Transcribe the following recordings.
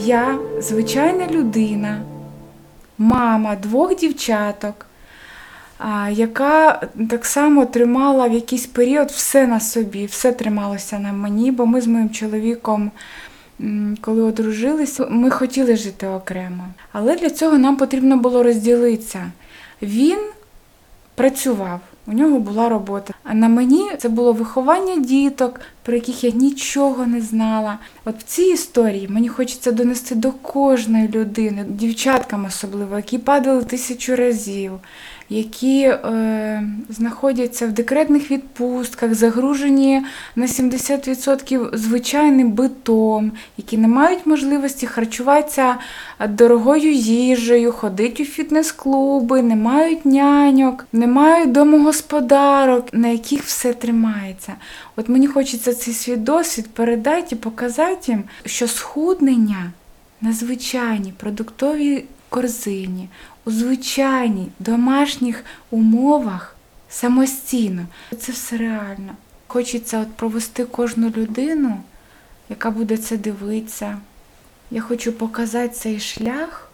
Я звичайна людина, мама 2 дівчаток, яка так само тримала в якийсь період все на собі, все трималося на мені, бо ми з моїм чоловіком, коли одружилися, ми хотіли жити окремо. Але для цього нам потрібно було розділитися. Він працював, у нього була робота. А на мені це було виховання діток, про яких я нічого не знала. От в цій історії мені хочеться донести до кожної людини, дівчаткам особливо, які падали 1000 разів, які знаходяться в декретних відпустках, загружені на 70% звичайним битом, які не мають можливості харчуватися дорогою їжею, ходити у фітнес-клуби, не мають няньок, не мають домогосподарок, на яких все тримається. От мені хочеться цей свій досвід передати і показати їм, що схуднення на звичайній продуктовій корзині, у звичайній домашніх умовах самостійно. Це все реально. Хочеться от провести кожну людину, яка буде це дивитися. Я хочу показати цей шлях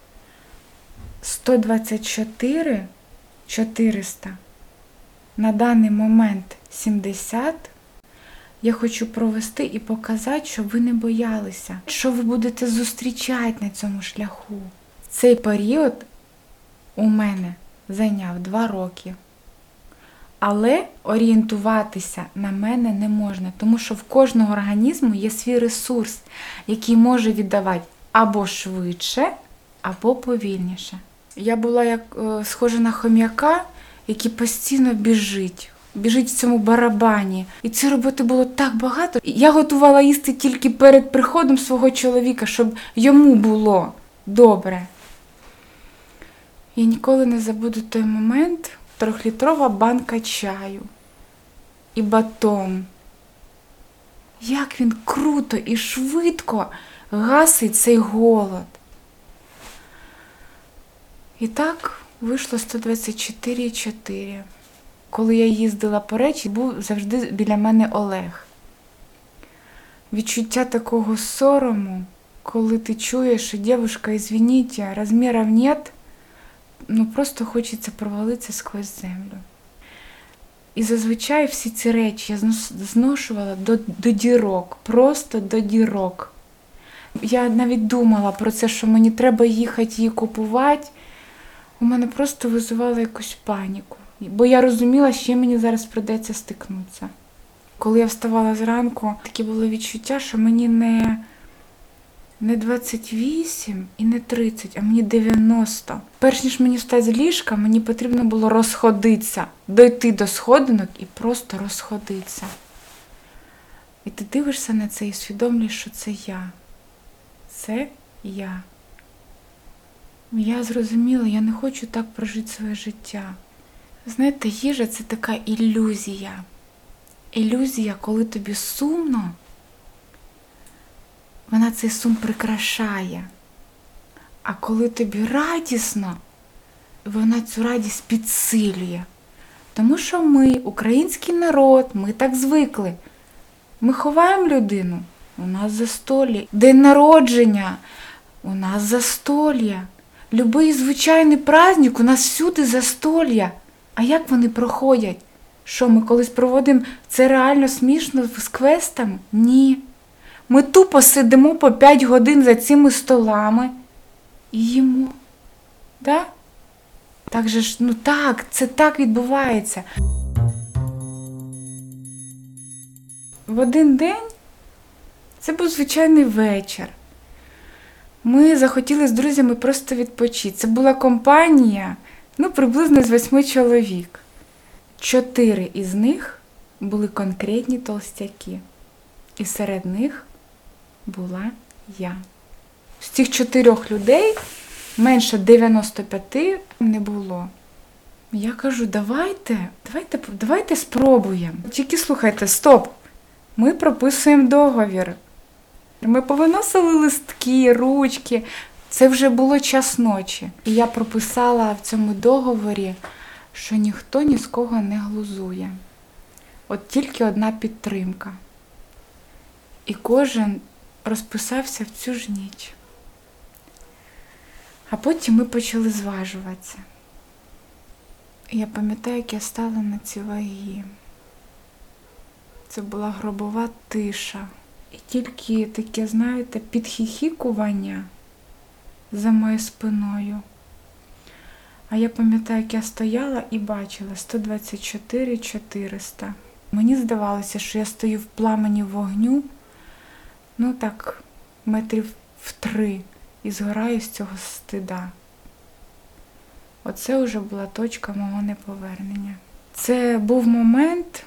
124 400, на даний момент 70. Я хочу провести і показати, щоб ви не боялися, що ви будете зустрічати на цьому шляху. Цей період у мене зайняв 2 роки. Але орієнтуватися на мене не можна, тому що в кожного організму є свій ресурс, який може віддавати або швидше, або повільніше. Я була як схожа на хом'яка, який постійно біжить в цьому барабані. І цієї роботи було так багато. Я готувала їсти тільки перед приходом свого чоловіка, щоб йому було добре. Я ніколи не забуду той момент, 3-літрова банка чаю і батон. Як він круто і швидко гасить цей голод. І так вийшло 124,4. Коли я їздила по речі, був завжди біля мене Олег. Відчуття такого сорому, коли ти чуєш, що дівчинка, извините, розмірів нет, просто хочеться провалитися сквозь землю. І зазвичай всі ці речі я зношувала до дірок, просто до дірок. Я навіть думала про це, що мені треба їхати її купувати. У мене просто визивало якусь паніку. Бо я розуміла, що мені зараз прийдеться стикнутися. Коли я вставала зранку, таке було відчуття, що мені не 28 і не 30, а мені 90. Перш ніж мені встати з ліжка, мені потрібно було розходитися, дойти до сходинок і просто розходитися. І ти дивишся на це і усвідомлюєш, що це я. Це я. Я зрозуміла, я не хочу так прожити своє життя. Знаєте, їжа – це така ілюзія. Ілюзія, коли тобі сумно, вона цей сум прикрашає. А коли тобі радісно, вона цю радість підсилює. Тому що ми, український народ, ми так звикли. Ми ховаємо людину, у нас застолля. День народження, у нас застолля. Любий звичайний праздник, у нас всюди застолля. А як вони проходять? Що, ми колись проводимо це реально смішно з квестами? Ні. Ми тупо сидимо по 5 годин за цими столами і їмо. Да? Так же ж, так, це так відбувається. В один день це був звичайний вечір. Ми захотіли з друзями просто відпочити. Це була компанія, приблизно з 8 чоловік. 4 із них були конкретні толстяки. І серед них була я. З цих 4 людей менше 95 не було. Я кажу, давайте спробуємо. Тільки слухайте, стоп, ми прописуємо договір. Ми повиносили листки, ручки. Це вже було час ночі. І я прописала в цьому договорі, що ніхто ні з кого не глузує. От тільки одна підтримка. І кожен розписався в цю ж ніч. А потім ми почали зважуватися. І я пам'ятаю, як я стала на ці ваги. Це була гробова тиша. І тільки таке, знаєте, підхіхікування за моєю спиною. А я пам'ятаю, як я стояла і бачила 124 400. Мені здавалося, що я стою в пламені вогню, ну так, метрів в 3, і згораю з цього стида. Оце вже була точка мого неповернення. Це був момент,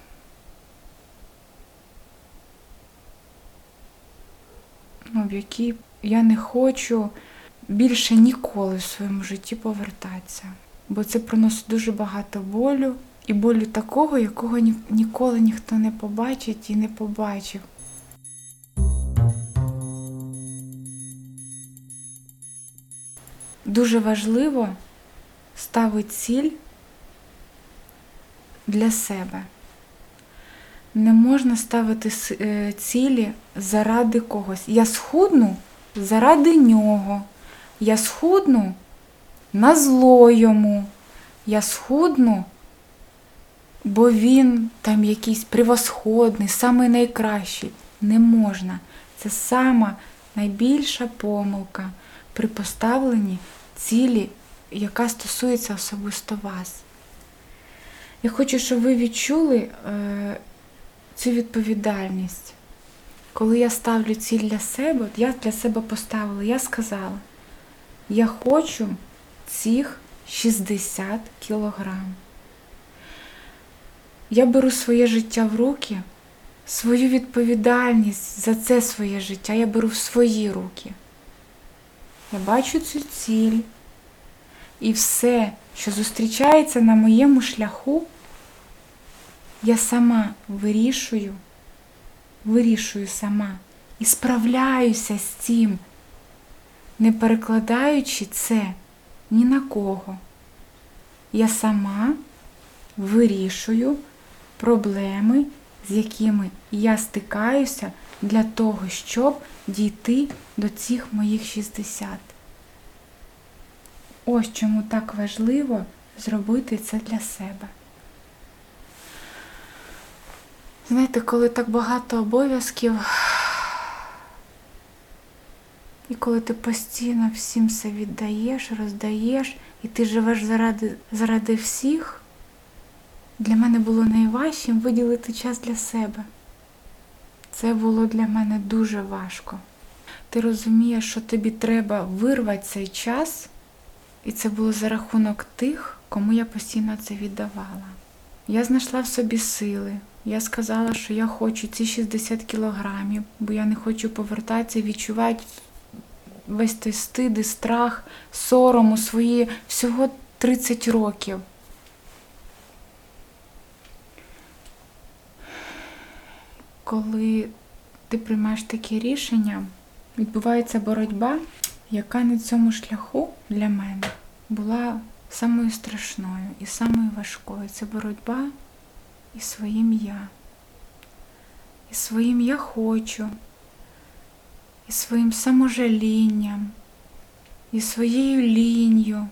в який я не хочу більше ніколи в своєму житті повертатися. Бо це приносить дуже багато болю. І болю такого, якого ніколи ніхто не побачить і не побачив. Дуже важливо ставити ціль для себе. Не можна ставити цілі заради когось. Я схудну заради нього. Я схудну на зло йому. Я схудну, бо він там якийсь превосходний, самий найкращий. Не можна. Це сама найбільша помилка при поставленні цілі, яка стосується особисто вас. Я хочу, щоб ви відчули цю відповідальність. Коли я ставлю ціль для себе, от я для себе поставила, я сказала, я хочу цих 60 кілограм. Я беру своє життя в руки, свою відповідальність за це своє життя я беру в свої руки. Я бачу цю ціль, і все, що зустрічається на моєму шляху, я сама вирішую сама і справляюся з цим, не перекладаючи це ні на кого. Я сама вирішую проблеми, з якими я стикаюся для того, щоб дійти до цих моїх 60. Ось чому так важливо зробити це для себе. Знаєте, коли так багато обов'язків, і коли ти постійно всім все віддаєш, роздаєш, і ти живеш заради всіх, для мене було найважчим виділити час для себе. Це було для мене дуже важко. Ти розумієш, що тобі треба вирвати цей час, і це було за рахунок тих, кому я постійно це віддавала. Я знайшла в собі сили. Я сказала, що я хочу ці 60 кілограмів, бо я не хочу повертатися і відчувати весь той стид і страх, сором у свої всього 30 років. Коли ти приймаєш такі рішення, відбувається боротьба, яка на цьому шляху для мене була самою страшною і самою важкою. Це боротьба із своїм «я». Із своїм «я хочу», із своїм саможалінням, із своєю лінню,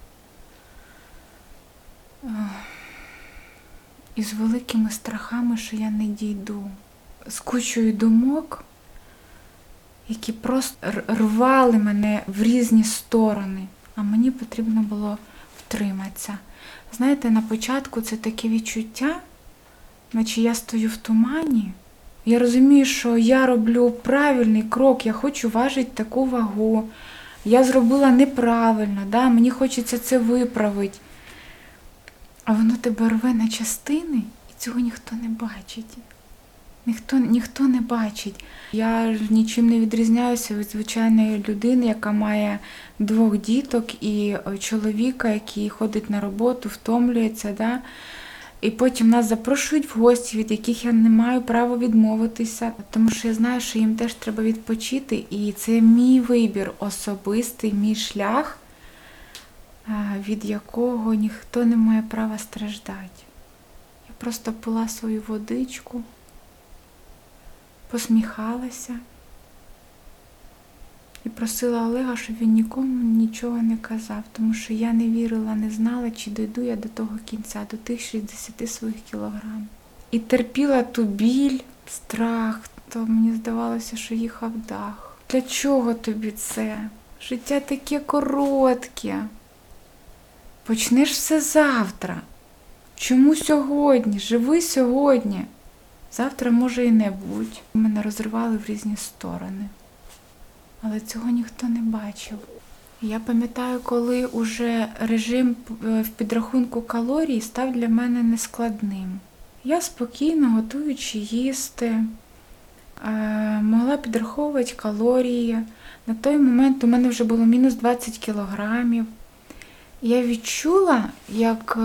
із великими страхами, що я не дійду, з кучою думок, які просто рвали мене в різні сторони, а мені потрібно було втриматися. Знаєте, на початку це таке відчуття, наче я стою в тумані. Я розумію, що я роблю правильний крок, я хочу важити таку вагу. Я зробила неправильно, да? Мені хочеться це виправити. А воно тебе рве на частини, і цього ніхто не бачить. Ніхто не бачить. Я нічим не відрізняюся від звичайної людини, яка має 2 діток і чоловіка, який ходить на роботу, втомлюється. Да? І потім нас запрошують в гості, від яких я не маю права відмовитися, тому що я знаю, що їм теж треба відпочити. І це мій вибір особистий, мій шлях, від якого ніхто не має права страждати. Я просто пила свою водичку, посміхалася і просила Олега, щоб він нікому нічого не казав, тому що я не вірила, не знала, чи дійду я до того кінця, до тих 60 своїх кілограм. І терпіла ту біль, страх, то мені здавалося, що їхав дах. Для чого тобі це? Життя таке коротке. Почнеш все завтра. Чому сьогодні? Живи сьогодні. Завтра може і не бути. Мене розривали в різні сторони. Але цього ніхто не бачив. Я пам'ятаю, коли уже режим в підрахунку калорій став для мене нескладним. Я спокійно, готуючи їсти, могла підраховувати калорії. На той момент у мене вже було мінус 20 кілограмів. Я відчула, як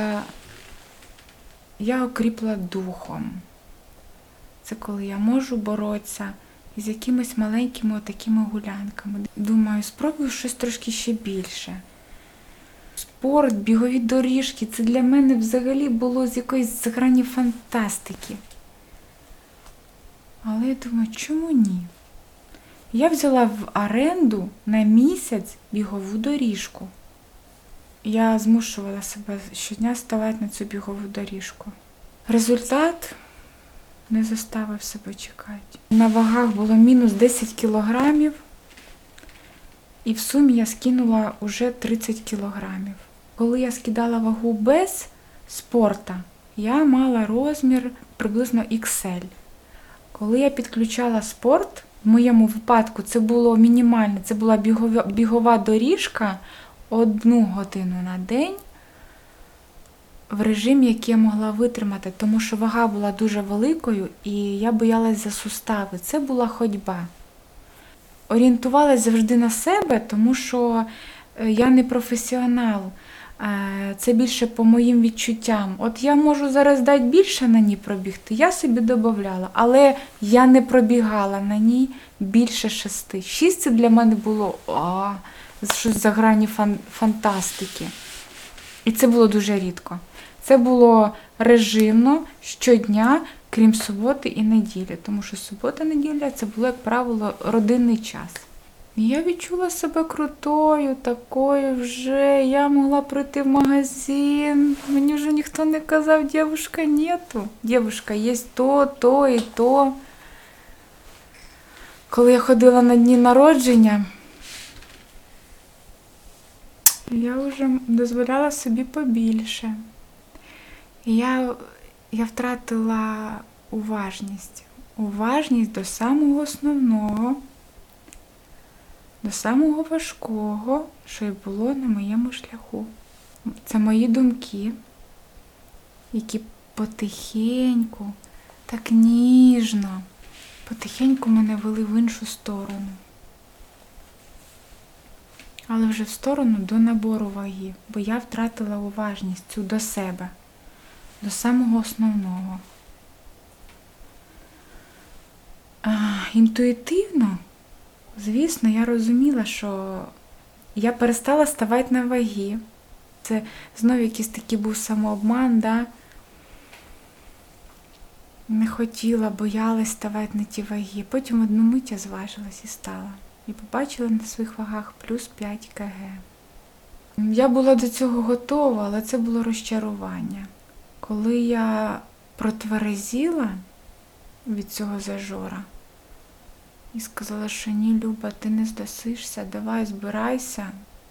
я окріпла духом. Це коли я можу боротися із якимись маленькими отакими гулянками. Думаю, спробую щось трошки ще більше. Спорт, бігові доріжки – це для мене взагалі було з якоїсь грані фантастики. Але я думаю, чому ні? Я взяла в оренду на місяць бігову доріжку. Я змушувала себе щодня ставати на цю бігову доріжку. Результат не заставив себе чекати. На вагах було мінус 10 кілограмів, і в сумі я скинула уже 30 кілограмів. Коли я скидала вагу без спорту, я мала розмір приблизно XL. Коли я підключала спорт, в моєму випадку це було мінімально, це була бігова доріжка 1 годину на день в режимі, який я могла витримати, тому що вага була дуже великою і я боялась за сустави. Це була ходьба. Орієнтувалась завжди на себе, тому що я не професіонал. Це більше по моїм відчуттям. От я можу зараз дати більше на ній пробігти, я собі додавала, але я не пробігала на ній більше 6. 6 це для мене було щось за грані фантастики. І це було дуже рідко. Це було режимно щодня, крім суботи і неділі, тому що субота-неділя це було, як правило, родинний час. І я відчула себе крутою, такою вже. Я могла прийти в магазин. Мені вже ніхто не казав, дівушка, нету. Дівушка, є то і то. Коли я ходила на дні народження, я вже дозволяла собі побільше. І я втратила уважність. Уважність до самого основного, до самого важкого, що й було на моєму шляху. Це мої думки, які потихеньку, так ніжно, потихеньку мене вели в іншу сторону. Але вже в сторону до набору ваги, бо я втратила уважність цю до себе, до самого основного. Інтуїтивно, звісно, я розуміла, що я перестала ставати на ваги. Це знову якийсь такий був самообман, да? Не хотіла, боялась ставати на ті ваги. Потім одну мить я зважилась і стала. І побачила на своїх вагах плюс 5 кг. Я була до цього готова, але це було розчарування. Коли я протверезіла від цього зажора і сказала, що ні, Люба, ти не здасишся, давай збирайся.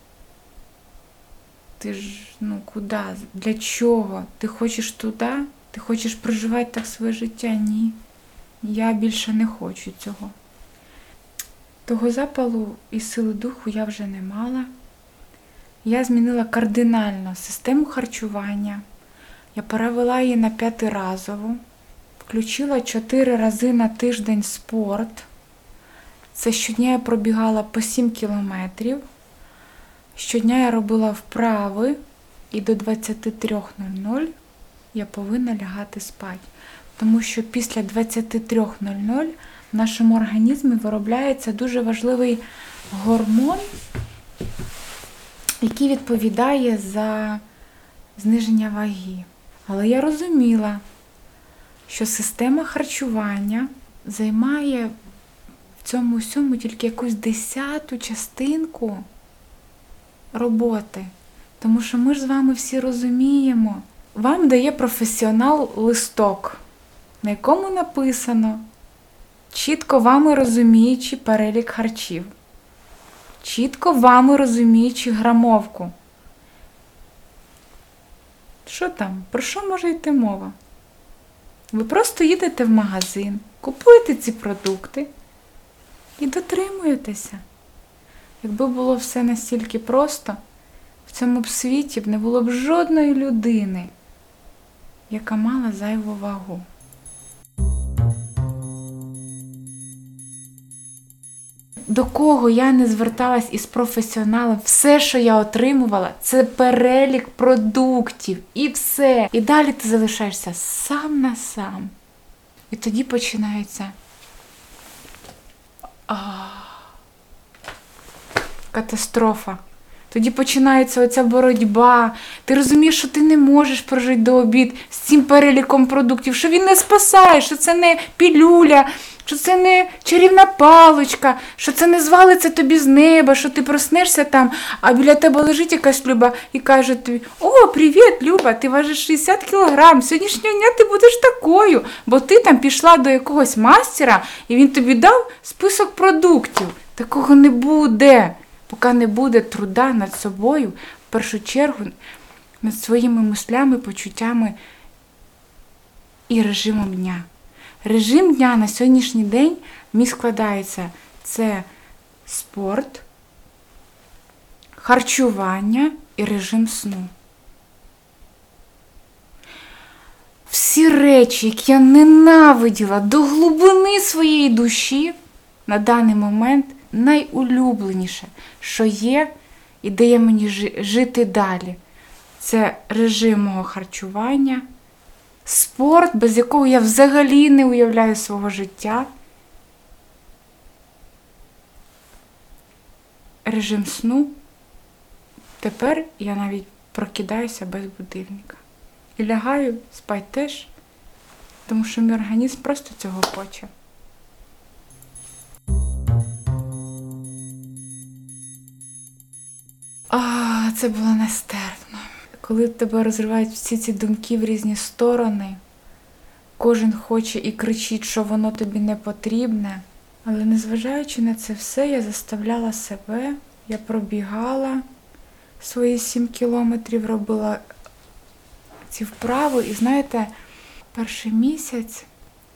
Ти ж, куди? Для чого? Ти хочеш туди? Ти хочеш проживати так своє життя? Ні. Я більше не хочу цього. Того запалу і сили духу я вже не мала. Я змінила кардинально систему харчування. Я перевела її на 5-разову. Включила 4 рази на тиждень спорт. Це щодня я пробігала по 7 кілометрів. Щодня я робила вправи. І до 23:00 я повинна лягати спати. Тому що після 23:00 в нашому організмі виробляється дуже важливий гормон, який відповідає за зниження ваги. Але я розуміла, що система харчування займає в цьому всьому тільки якусь 10-ту частинку роботи. Тому що ми ж з вами всі розуміємо. Вам дає професіонал листок, на якому написано, чітко вами розуміючи перелік харчів, чітко вами розуміючи грамовку. Що там? Про що може йти мова? Ви просто їдете в магазин, купуєте ці продукти і дотримуєтеся. Якби було все настільки просто, в цьому б світі б не було б жодної людини, яка мала зайву вагу. До кого я не зверталась із професіоналом, все, що я отримувала, це перелік продуктів і все. І далі ти залишаєшся сам на сам. І тоді починається катастрофа. Тоді починається оця боротьба. Ти розумієш, що ти не можеш прожити до обід з цим переліком продуктів, що він не спасає, що це не пілюля, що це не чарівна паличка, що це не звалиться тобі з неба, що ти проснешся там, а біля тебе лежить якась Люба і каже тобі: «О, привіт, Люба, ти важиш 60 кілограм, сьогоднішнього дня ти будеш такою, бо ти там пішла до якогось мастера, і він тобі дав список продуктів». Такого не буде, поки не буде труда над собою, в першу чергу, над своїми мислями, почуттями і режимом дня. Режим дня на сьогоднішній день мій складається. Це спорт, харчування і режим сну. Всі речі, які я ненавиділа до глибини своєї душі, на даний момент найулюбленіше, що є і дає мені жити далі. Це режим мого харчування, спорт, без якого я взагалі не уявляю свого життя, режим сну. Тепер я навіть прокидаюся без будильника. І лягаю спати теж, тому що мій організм просто цього хоче. Це було нестерпно. Коли тебе розривають всі ці думки в різні сторони, кожен хоче і кричить, що воно тобі не потрібне. Але незважаючи на це все, я заставляла себе, я пробігала свої 7 кілометрів, робила ці вправи. І знаєте, перший місяць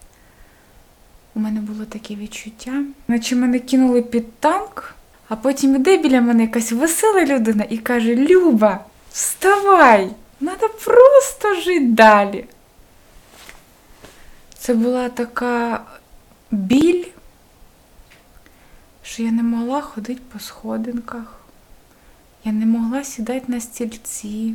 у мене було таке відчуття, наче мене кинули під танк, а потім іде біля мене якась весела людина і каже: «Люба, вставай, треба просто жити далі». Це була така біль, що я не могла ходити по сходинках, я не могла сідати на стільці.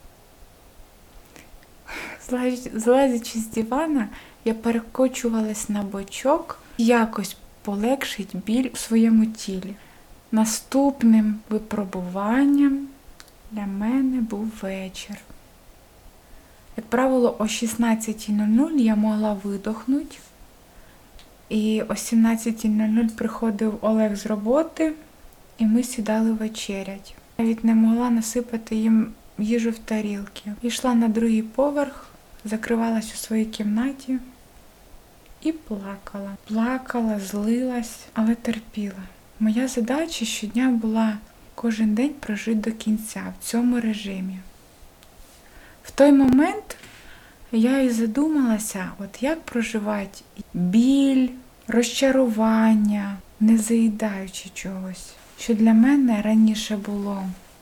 Злазячи з дивана, я перекочувалась на бочок, якось полегшить біль у своєму тілі. Наступним випробуванням для мене був вечір. Як правило, о 16:00 я могла видохнути. І о 17:00 приходив Олег з роботи, і ми сідали вечерять. Навіть не могла насипати їм їжу в тарілки. Йшла на другий поверх, закривалась у своїй кімнаті і плакала. Плакала, злилась, але терпіла. Моя задача щодня була кожен день прожити до кінця в цьому режимі. В той момент я і задумалася, от як проживати біль, розчарування, не заїдаючи чогось, що для мене раніше було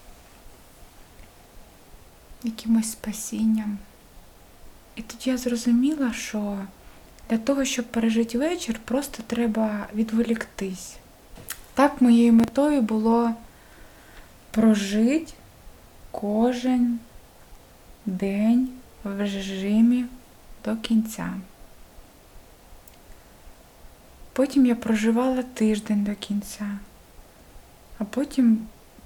якимось спасінням. І тоді я зрозуміла, що для того, щоб пережити вечір, просто треба відволіктись. Так моєю метою було прожити кожен день в режимі до кінця. Потім я проживала тиждень до кінця, а потім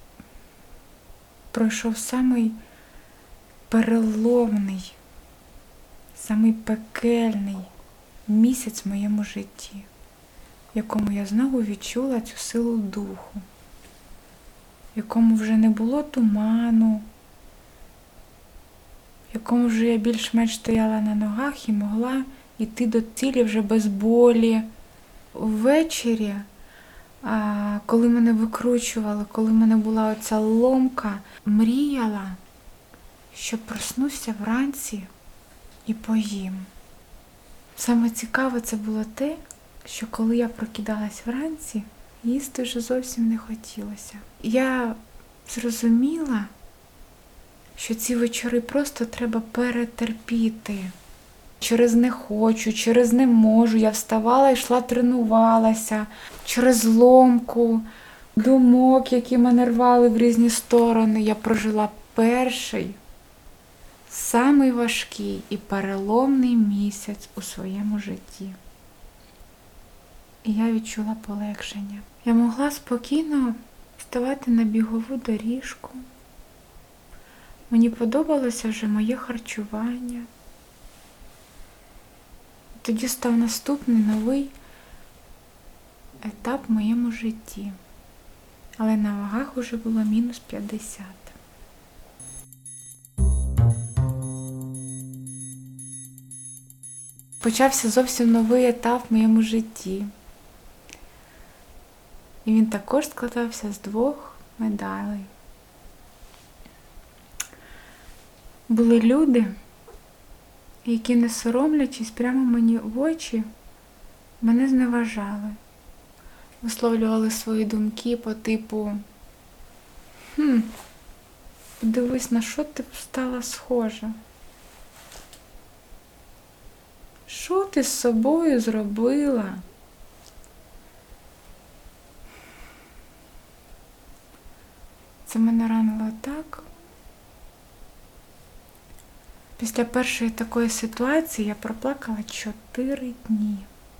пройшов самий переломний, самий пекельний місяць в моєму житті. в якому я знову відчула цю силу духу, в якому вже не було туману, в якому вже я більш-менш стояла на ногах і могла йти до цілі вже без болі. Ввечері, коли мене викручували, коли в мене була оця ломка, мріяла, що проснуся вранці і поїм. Саме цікаве це було те, що коли я прокидалась вранці, їсти вже зовсім не хотілося. Я зрозуміла, що ці вечори просто треба перетерпіти. Через не хочу, через не можу. Я вставала, йшла, тренувалася. Через ломку, думок, які мене рвали в різні сторони. Я прожила перший, самий важкий і переломний місяць у своєму житті. І я відчула полегшення. Я могла спокійно вставати на бігову доріжку. Мені подобалося вже моє харчування. Тоді став наступний новий етап в моєму житті. Але на вагах уже було мінус 50. Почався зовсім новий етап в моєму житті. І він також складався з 2 медалей. Були люди, які, не соромлячись, прямо мені в очі, мене зневажали. Висловлювали свої думки по типу: подивись, на що ти стала схожа? Що ти з собою зробила? Це мене ранило так. Після першої такої ситуації я проплакала 4 дні.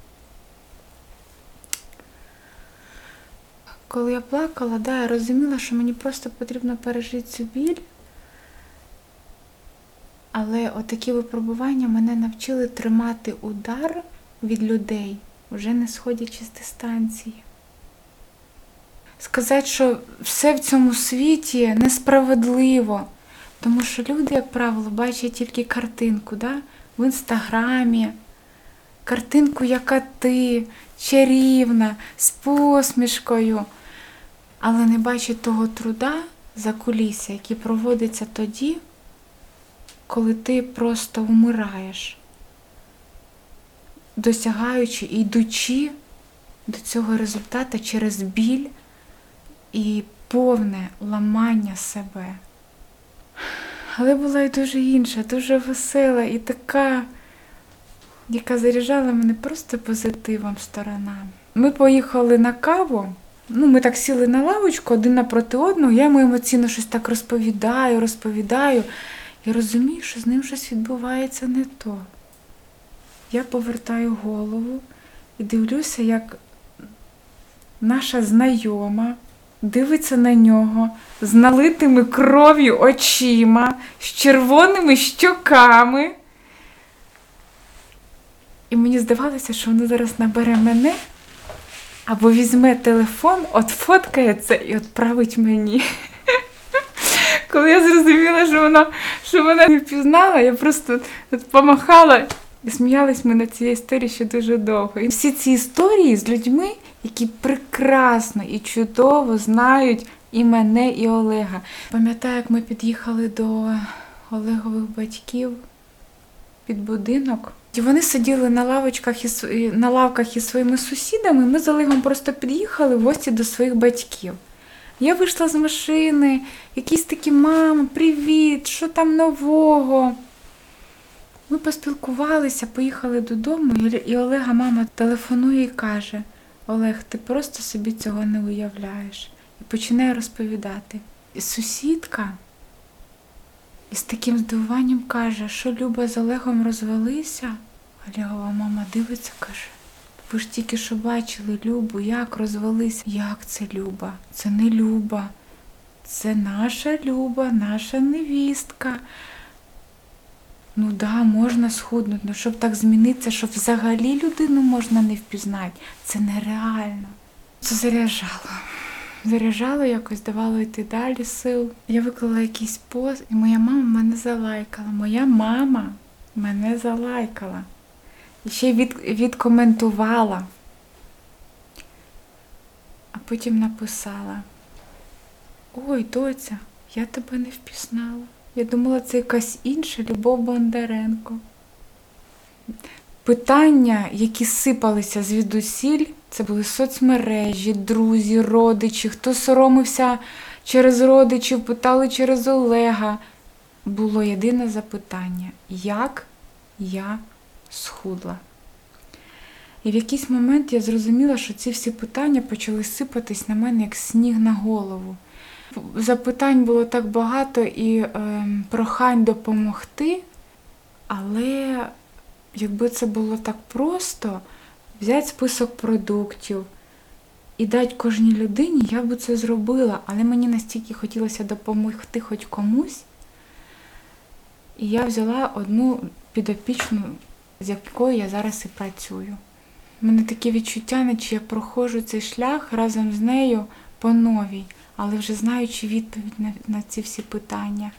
Коли я плакала, я розуміла, що мені просто потрібно пережити цю біль. Але отакі випробування мене навчили тримати удар від людей, вже не сходячи з дистанції. Сказати, що все в цьому світі несправедливо. Тому що люди, як правило, бачать тільки картинку, в інстаграмі. Картинку, яка ти, чарівна, з посмішкою. Але не бачать того труда закулісся, який проводиться тоді, коли ти просто вмираєш, досягаючи і йдучи до цього результату через біль і повне ламання себе. Але була і дуже інша, дуже весела і така, яка заряджала мене просто позитивом сторона. Ми поїхали на каву, ми так сіли на лавочку один напроти одного, я йому емоційно щось так розповідаю, і розумію, що з ним щось відбувається не то. Я повертаю голову і дивлюся, як наша знайома дивиться на нього з налитими кров'ю очима, з червоними щоками. І мені здавалося, що воно зараз набере мене, або візьме телефон, отфоткає це і відправить мені. Коли я зрозуміла, що вона не впізнала, я просто помахала і сміялись ми на цій історії ще дуже довго. І всі ці історії з людьми, які прекрасно і чудово знають і мене, і Олега. Пам'ятаю, як ми під'їхали до Олегових батьків під будинок. І вони сиділи на лавках із своїми сусідами, ми з Олегом просто під'їхали в гості до своїх батьків. Я вийшла з машини, якісь такі: мама, привіт, що там нового? Ми поспілкувалися, поїхали додому, і Олега мама телефонує і каже: Олег, ти просто собі цього не уявляєш. І починає розповідати. І сусідка із таким здивуванням каже, що Люба з Олегом розвелися. Олегова мама дивиться, каже: ви ж тільки що бачили Любу, як розвелися. Як це Люба? Це не Люба. Це наша Люба, наша невістка. Ну да, можна схуднути, але щоб так змінитися, щоб взагалі людину можна не впізнати, це нереально. Це заряджало. Заряджало якось, давало йти далі сил. Я виклала якийсь пост, і моя мама мене залайкала. Моя мама мене залайкала. І ще й відкоментувала. А потім написала: ой, доця, я тебе не впізнала. Я думала, це якась інша Любов Бондаренко. Питання, які сипалися звідусіль, це були соцмережі, друзі, родичі, хто соромився через родичів, питали через Олега. Було єдине запитання: як я схудла? І в якийсь момент я зрозуміла, що ці всі питання почали сипатись на мене, як сніг на голову. Запитань було так багато і прохань допомогти, але якби це було так просто, взяти список продуктів і дати кожній людині, я б це зробила, але мені настільки хотілося допомогти хоч комусь, і я взяла одну підопічну, з якою я зараз і працюю. У мене таке відчуття, наче я проходжу цей шлях разом з нею по новій, але вже знаючи відповідь на ці всі питання.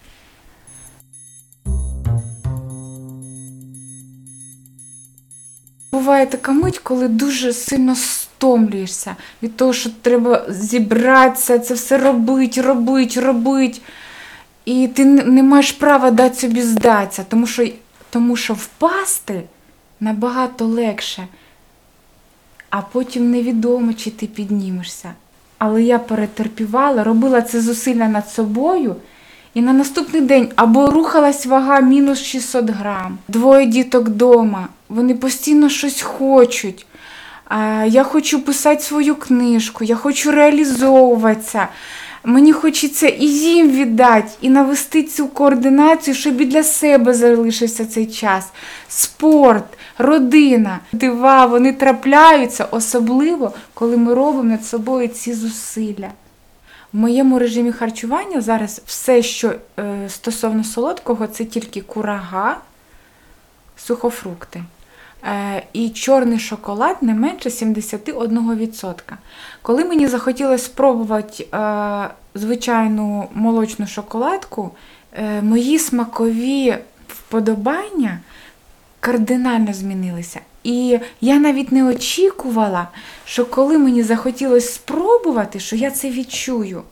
Буває така мить, коли дуже сильно стомлюєшся від того, що треба зібратися, це все робити. І ти не маєш права дати собі здатися, тому що впасти набагато легше, а потім невідомо, чи ти піднімешся. Але я перетерпівала, робила це зусилля над собою, і на наступний день або рухалась вага мінус 600 грам. 2 діток вдома, вони постійно щось хочуть. Я хочу писати свою книжку, я хочу реалізовуватися. Мені хочеться і їм віддати, і навести цю координацію, щоб і для себе залишився цей час. Спорт, родина, дива, вони трапляються, особливо, коли ми робимо над собою ці зусилля. В моєму режимі харчування зараз все, що стосовно солодкого, це тільки курага, сухофрукти. І чорний шоколад не менше 71%. Коли мені захотілося спробувати звичайну молочну шоколадку, мої смакові вподобання кардинально змінилися. І я навіть не очікувала, що коли мені захотілося спробувати, що я це відчую.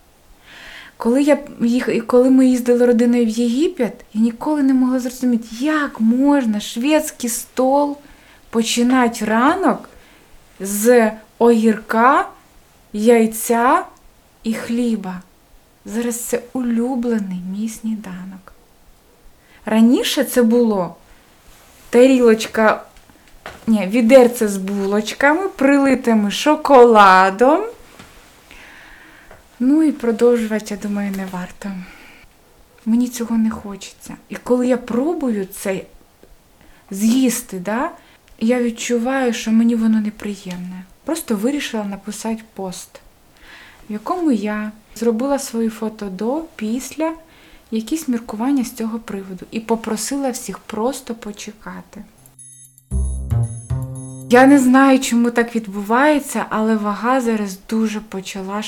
Коли ми їздили родиною в Єгипет, я ніколи не могла зрозуміти, як можна шведський стол починати ранок з огірка, яйця і хліба. Зараз це улюблений мій сніданок. Раніше це було відерце з булочками, прилитими шоколадом. Ну і продовжувати, я думаю, не варто. Мені цього не хочеться. І коли я пробую це з'їсти, я відчуваю, що мені воно неприємне. Просто вирішила написати пост, в якому я зробила свої фото до, після, якісь міркування з цього приводу. І попросила всіх просто почекати. Я не знаю, чому так відбувається, але вага зараз дуже почала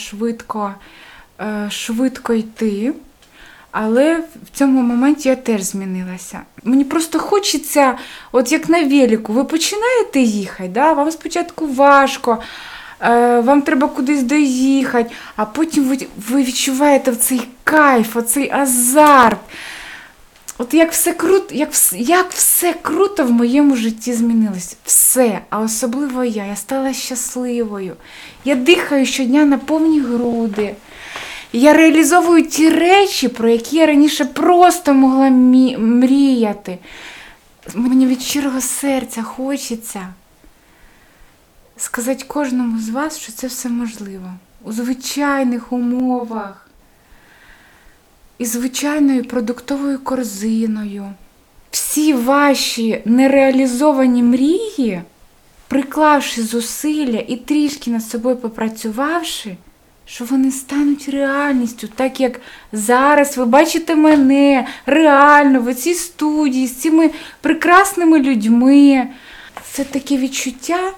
швидко йти. Але в цьому моменті я теж змінилася. Мені просто хочеться, от як на велику, ви починаєте їхати, вам спочатку важко, вам треба кудись доїхати, а потім ви відчуваєте цей кайф, оцей азарт. От як все круто в моєму житті змінилось. Все, а особливо я стала щасливою. Я дихаю щодня на повні груди. Я реалізовую ті речі, про які я раніше просто могла мріяти. Мені від щирого серця хочеться сказати кожному з вас, що це все можливо. У звичайних умовах. І звичайною продуктовою корзиною. Всі ваші нереалізовані мрії, приклавши зусилля і трішки над собою попрацювавши, що вони стануть реальністю, так як зараз ви бачите мене реально в цій студії з цими прекрасними людьми. Це таке відчуття,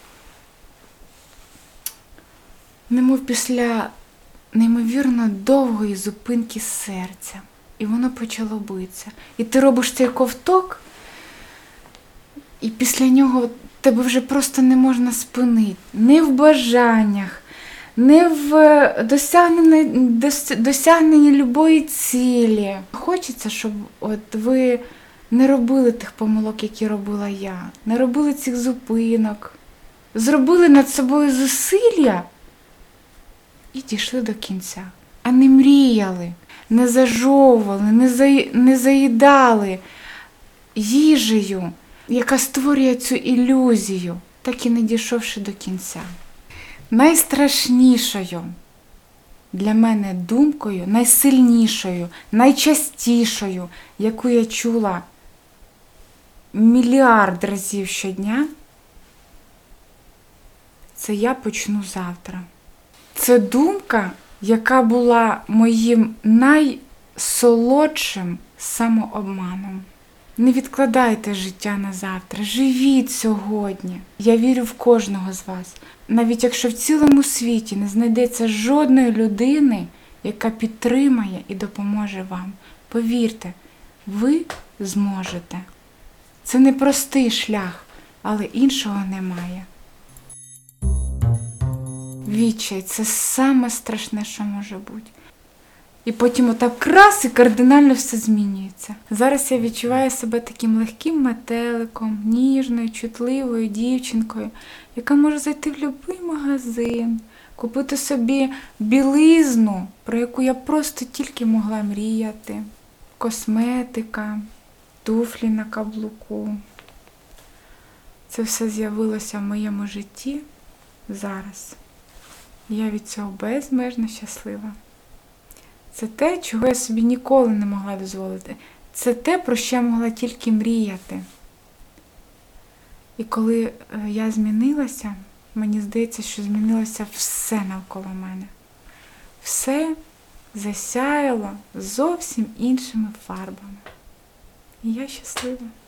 немов після неймовірно довгої зупинки серця. І воно почало битися. І ти робиш цей ковток, і після нього тебе вже просто не можна спинити. Не в бажаннях, не в досягненні любої цілі. Хочеться, щоб от ви не робили тих помилок, які робила я. Не робили цих зупинок. Зробили над собою зусилля і дійшли до кінця. А не мріяли, не зажовували, не заїдали їжею, яка створює цю ілюзію, так і не дійшовши до кінця. Найстрашнішою для мене думкою, найсильнішою, найчастішою, яку я чула мільярд разів щодня, це я почну завтра. Це думка, яка була моїм найсолодшим самообманом. Не відкладайте життя на завтра, живіть сьогодні. Я вірю в кожного з вас. Навіть якщо в цілому світі не знайдеться жодної людини, яка підтримає і допоможе вам, повірте, ви зможете. Це непростий шлях, але іншого немає. Відчай – це саме страшне, що може бути. І потім отак раз і кардинально все змінюється. Зараз я відчуваю себе таким легким метеликом, ніжною, чутливою дівчинкою, яка може зайти в будь-який магазин, купити собі білизну, про яку я просто тільки могла мріяти, косметика, туфлі на каблуку. Це все з'явилося в моєму житті зараз. Я від цього безмежно щаслива. Це те, чого я собі ніколи не могла дозволити. Це те, про що я могла тільки мріяти. І коли я змінилася, мені здається, що змінилося все навколо мене. Все засяяло зовсім іншими фарбами. І я щаслива.